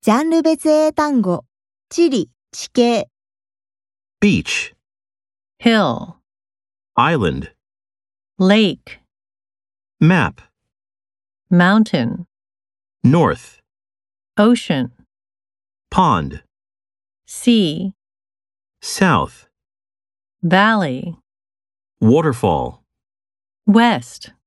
ジャンル別英単語、地理、地形、 beach, hill, island, lake, map, mountain, north, ocean, pond, sea, south, valley, waterfall. west.